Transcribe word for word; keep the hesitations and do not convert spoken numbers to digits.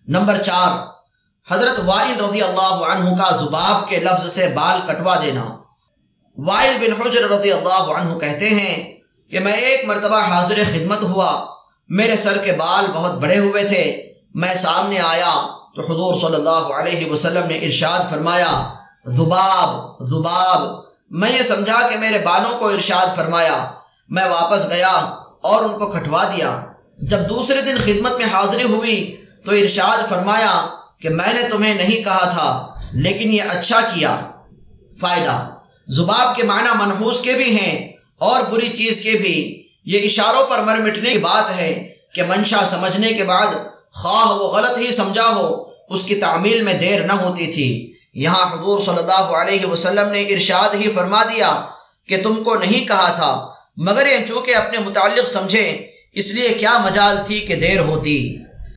Number चार, हजरत while रज़ी अल्लाह अन्हु का जुबाब के लफ्ज से बाल कटवा देना। वाइल बिन हुज्र रज़ी अल्लाह अन्हु कहते हैं कि मैं एक मरतबा हाजिर खिदमत हुआ, मेरे सर के बाल बहुत बड़े हुए थे। मैं सामने आया तो हुजूर सल्लल्लाहु अलैहि वसल्लम ने इरशाद फरमाया, जुबाब जुबाब। मैं ये समझा कि मेरे बालों को इरशाद फरमाया। मैं वापस गया और उनको कटवा दिया। जब दूसरे दिन खिदमत में हाजिरी हुई तो इरशाद फरमाया कि मैंने तुम्हें नहीं कहा था, लेकिन ये अच्छा किया। फ़ायदा, जुबाब के माना मनहूस के भी हैं और बुरी चीज़ के भी। ये इशारों पर मर मिटने की बात है कि मंशा समझने के बाद ख्वाह वो गलत ही समझा हो, उसकी तामील में देर न होती थी। यहाँ हुजूर सल्लल्लाहु अलैहि वसल्लम ने इरशाद ही फरमा दिया कि तुमको नहीं कहा था, मगर ये चूँकि अपने मुताल्लिक़ समझे इसलिए क्या मजाल थी कि देर होती।